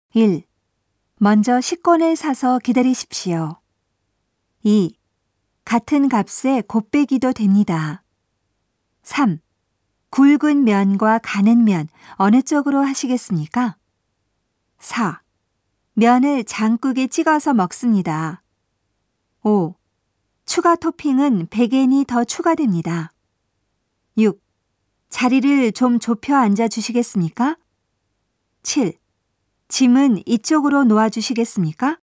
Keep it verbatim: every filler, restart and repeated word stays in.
일. 먼저 식권을 사서 기다리십시오. 이. 같은 값에 곱빼기도 됩니다. 삼. 굵은 면과 가는 면 어느 쪽으로 하시겠습니까? 사. 면을 장국에 찍어서 먹습니다. 오. 추가 토핑은 백 엔이 더 추가됩니다. 육. 자리를 좀 좁혀 앉아 주시겠습니까? 칠. 짐은 이쪽으로 놓아 주시겠습니까?